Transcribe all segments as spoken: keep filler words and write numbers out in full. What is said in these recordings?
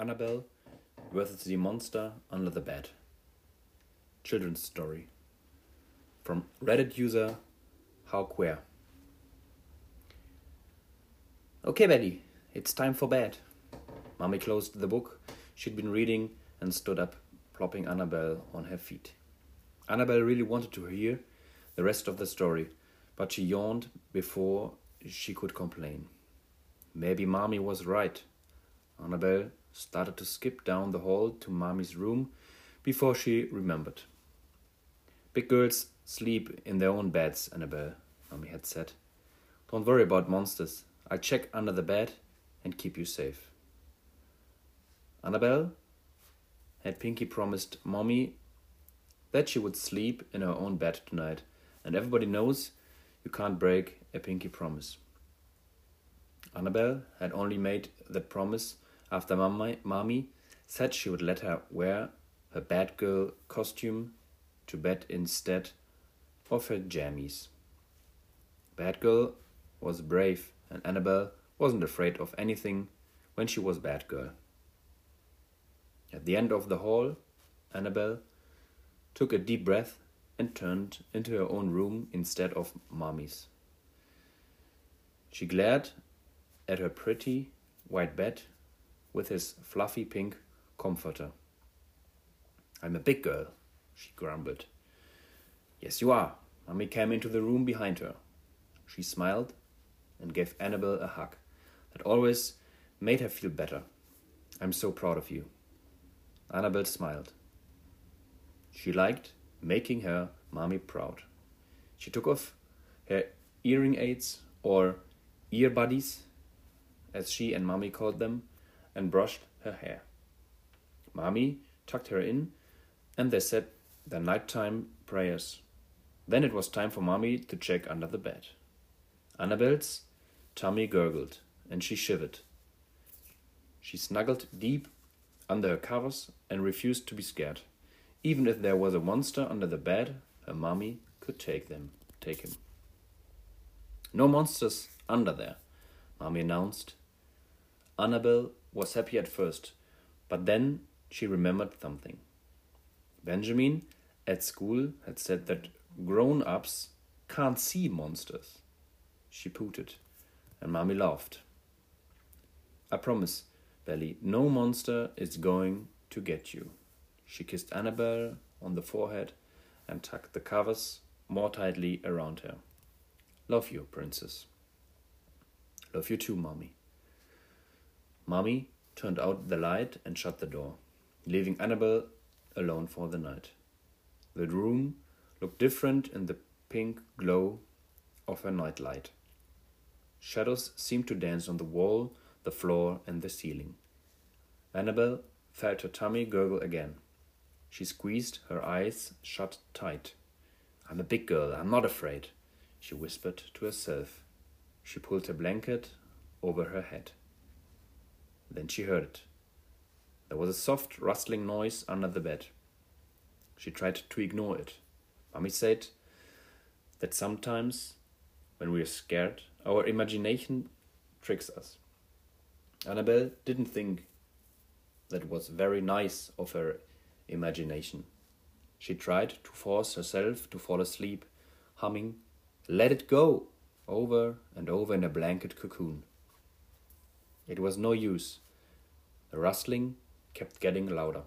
Annabelle versus the Monster Under the Bed. Children's story. From Reddit user How Queer. Okay, Betty, it's time for bed. Mommy closed the book she'd been reading and stood up, plopping Annabelle on her feet. Annabelle really wanted to hear the rest of the story, but she yawned before she could complain. Maybe Mommy was right. Annabelle started to skip down the hall to Mommy's room before she remembered. Big girls sleep in their own beds, Annabelle, Mommy had said. Don't worry about monsters. I'll check under the bed and keep you safe. Annabelle had Pinky promised Mommy that she would sleep in her own bed tonight, and everybody knows you can't break a Pinky promise. Annabelle had only made that promise after Mommy, Mommy said she would let her wear her Batgirl costume to bed instead of her jammies. Batgirl was brave, and Annabelle wasn't afraid of anything when she was Batgirl. At the end of the hall, Annabelle took a deep breath and turned into her own room instead of Mommy's. She glared at her pretty white bed with his fluffy pink comforter. I'm a big girl, she grumbled. Yes, you are. Mommy came into the room behind her. She smiled and gave Annabelle a hug that always made her feel better. I'm so proud of you. Annabelle smiled. She liked making her Mommy proud. She took off her hearing aids, or earbuddies, as she and Mommy called them, and brushed her hair. Mommy tucked her in, and they said their nighttime prayers. Then it was time for Mommy to check under the bed. Annabelle's tummy gurgled, and she shivered. She snuggled deep under her covers and refused to be scared. Even if there was a monster under the bed, her Mommy could take them, take him. No monsters under there, Mommy announced. Annabelle was happy at first, but then she remembered something. Benjamin at school had said that grown-ups can't see monsters. She pooted, and Mommy laughed. I promise, Belly, no monster is going to get you. She kissed Annabelle on the forehead and tucked the covers more tightly around her. Love you, princess. Love you too, Mommy. Mommy turned out the light and shut the door, leaving Annabelle alone for the night. The room looked different in the pink glow of her nightlight. Shadows seemed to dance on the wall, the floor, and the ceiling. Annabelle felt her tummy gurgle again. She squeezed her eyes shut tight. I'm a big girl, I'm not afraid, she whispered to herself. She pulled her blanket over her head. Then she heard it. There was a soft rustling noise under the bed. She tried to ignore it. Mommy said that sometimes when we are scared, our imagination tricks us. Annabelle didn't think that was very nice of her imagination. She tried to force herself to fall asleep, humming "Let It Go" over and over in a blanket cocoon. It was no use. The rustling kept getting louder.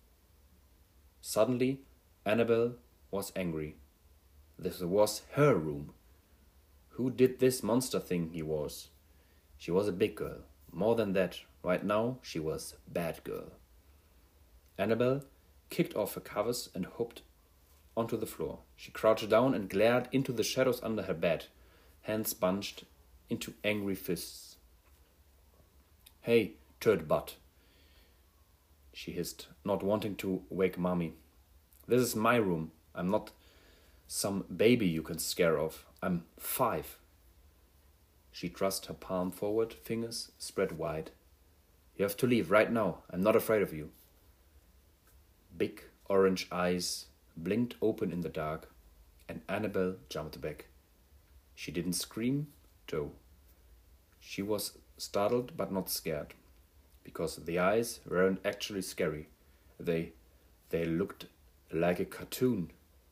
Suddenly, Annabelle was angry. This was her room. Who did this monster thing he was? She was a big girl. More than that, right now she was Batgirl. Annabelle kicked off her covers and hopped onto the floor. She crouched down and glared into the shadows under her bed, hands bunched into angry fists. Hey, turd butt, she hissed, not wanting to wake Mommy. This is my room. I'm not some baby you can scare off. I'm five. She thrust her palm forward, fingers spread wide. You have to leave right now. I'm not afraid of you. Big orange eyes blinked open in the dark, and Annabelle jumped back. She didn't scream, though. She was startled but not scared. because the eyes weren't actually scary. They, they looked like a cartoon.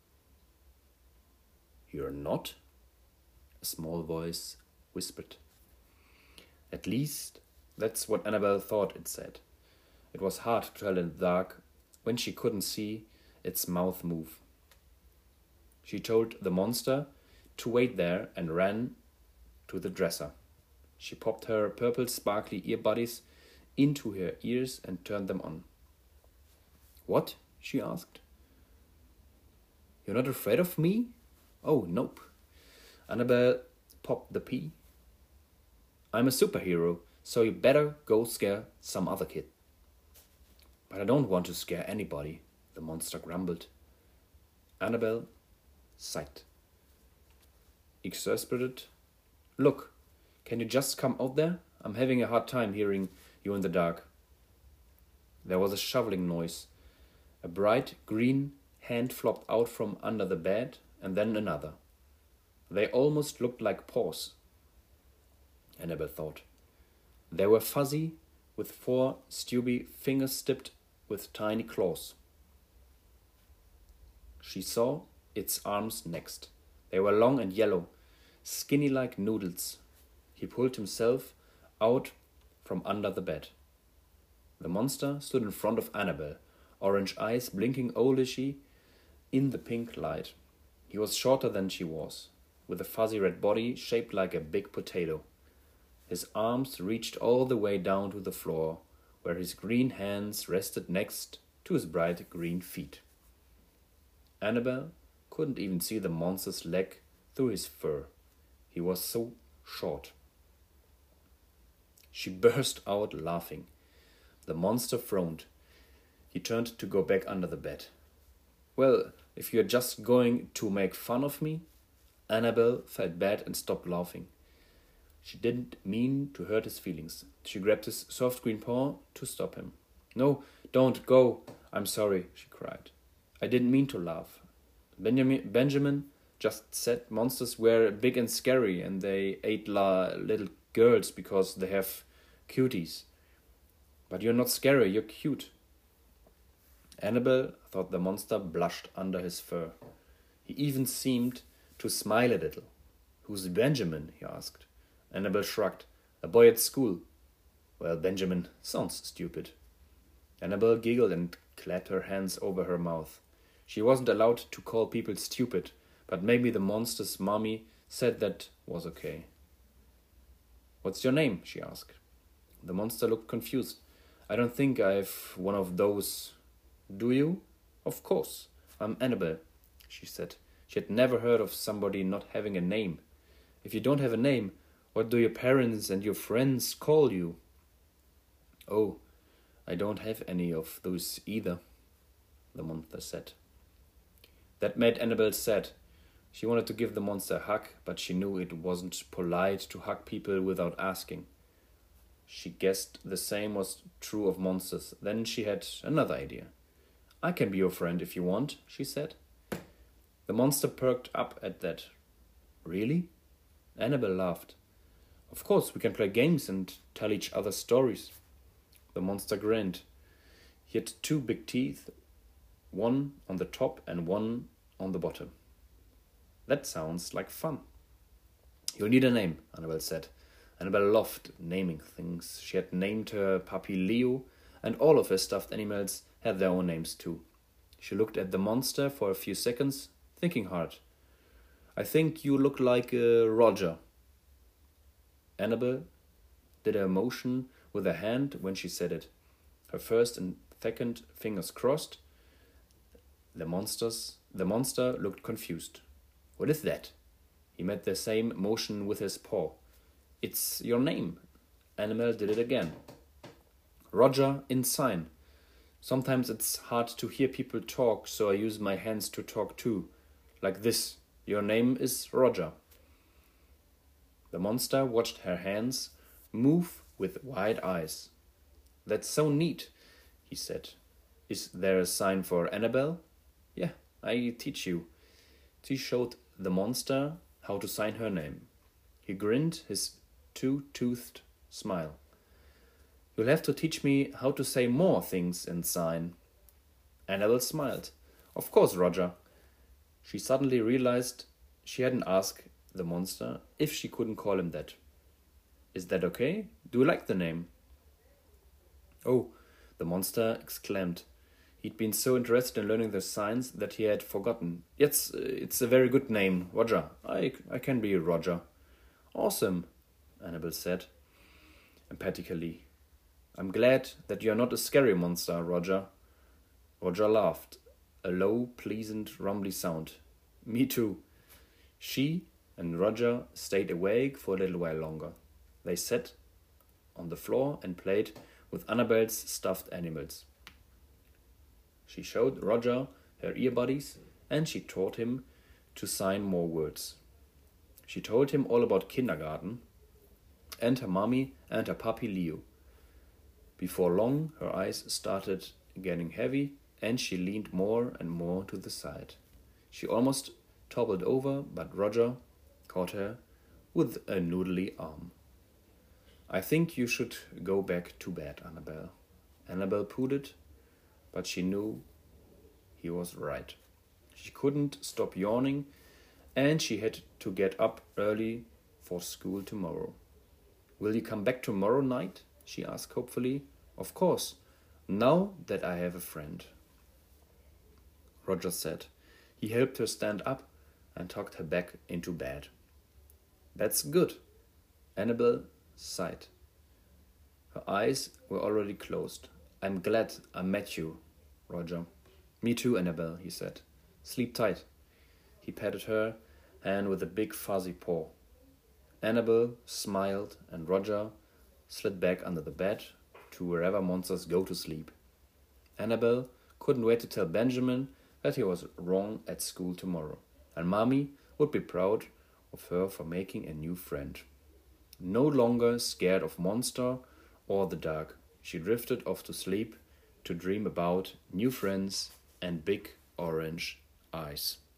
"You're not?" a small voice whispered. At least, that's what Annabelle thought it said. It was hard to tell in the dark when she couldn't see its mouth move. She told the monster to wait there and ran to the dresser. She popped her purple sparkly earbuds into her ears and turned them on. "What?" she asked. "You're not afraid of me?" "Oh, nope." Annabelle popped the pea. "I'm a superhero, so you better go scare some other kid." "But I don't want to scare anybody," the monster grumbled. Annabelle sighed. Exasperated, "Look, can you just come out there? I'm having a hard time hearing you in the dark." There was a shoveling noise. A bright green hand flopped out from under the bed, and then another. They almost looked like paws, Annabelle thought. They were fuzzy, with four stubby fingers tipped with tiny claws. She saw its arms next. They were long and yellow, skinny like noodles. He pulled himself out from under the bed. The monster stood in front of Annabelle, orange eyes blinking owlishly in the pink light. He was shorter than she was, with a fuzzy red body shaped like a big potato. His arms reached all the way down to the floor, where his green hands rested next to his bright green feet. Annabelle couldn't even see the monster's leg through his fur. He was so short. She burst out laughing. The monster frowned. He turned to go back under the bed. "Well, if you're just going to make fun of me?" Annabelle felt bad and stopped laughing. She didn't mean to hurt his feelings. She grabbed his soft green paw to stop him. "No, don't go. I'm sorry," she cried. "I didn't mean to laugh. Benjamin, Benjamin just said monsters were big and scary and they ate la- little girls because they have cuties. But you're not scary, you're cute." Annabelle thought the monster blushed under his fur. He even seemed to smile a little. "Who's Benjamin?" he asked. Annabelle shrugged. "A boy at school." "Well, Benjamin sounds stupid." Annabelle giggled and clapped her hands over her mouth. She wasn't allowed to call people stupid, but maybe the monster's mommy said that was okay. "What's your name?" she asked. The monster looked confused. "I don't think I've one of those." "Do you?" "Of course. I'm Annabelle," she said. She had never heard of somebody not having a name. "If you don't have a name, what do your parents and your friends call you?" "Oh, I don't have any of those either," the monster said. That made Annabelle sad. She wanted to give the monster a hug, but she knew it wasn't polite to hug people without asking. She guessed the same was true of monsters. Then she had another idea. "I can be your friend if you want," she said. The monster perked up at that. "Really?" Annabelle laughed. "Of course, we can play games and tell each other stories." The monster grinned. He had two big teeth, one on the top and one on the bottom. "That sounds like fun." "You'll need a name," Annabelle said. Annabelle loved naming things. She had named her puppy Leo, and all of her stuffed animals had their own names too. She looked at the monster for a few seconds, thinking hard. "I think you look like uh, Roger." Annabelle did a motion with her hand when she said it. Her first and second fingers crossed. The monsters, the monster looked confused. "What is that?" He made the same motion with his paw. "It's your name." Annabelle did it again. "Roger in sign. Sometimes it's hard to hear people talk, so I use my hands to talk too. Like this. Your name is Roger." The monster watched her hands move with wide eyes. "That's so neat," he said. "Is there a sign for Annabelle?" "Yeah, I teach you." She showed the monster how to sign her name. He grinned his two-toothed smile. You'll have to teach me how to say more things in sign. Annabel smiled. Of course, Roger. She suddenly realized she hadn't asked the monster if she couldn't call him that. Is that okay? Do you like the name? Oh, the monster exclaimed. He'd been so interested in learning the signs that he had forgotten. Yes, it's a very good name, Roger. I, I can be Roger. Awesome, Annabel said, emphatically. I'm glad that you're not a scary monster, Roger. Roger laughed, a low, pleasant, rumbly sound. Me too. She and Roger stayed awake for a little while longer. They sat on the floor and played with Annabel's stuffed animals. She showed Roger her earbuddies and she taught him to sign more words. She told him all about kindergarten and her mommy and her puppy Leo. Before long, her eyes started getting heavy and she leaned more and more to the side. She almost toppled over, but Roger caught her with a noodly arm. I think you should go back to bed, Annabel. Annabel pouted, but she knew he was right. She couldn't stop yawning, and she had to get up early for school tomorrow. Will you come back tomorrow night? She asked hopefully. Of course, now that I have a friend. Roger said. He helped her stand up and tucked her back into bed. That's good. Annabel sighed. Her eyes were already closed. I'm glad I met you, Roger. Me too, Annabel, he said. Sleep tight. He patted her hand with a big fuzzy paw. Annabel smiled and Roger slid back under the bed to wherever monsters go to sleep. Annabel couldn't wait to tell Benjamin that he was wrong at school tomorrow, and Mommy would be proud of her for making a new friend. No longer scared of monster or the dark, she drifted off to sleep to dream about new friends and big orange eyes.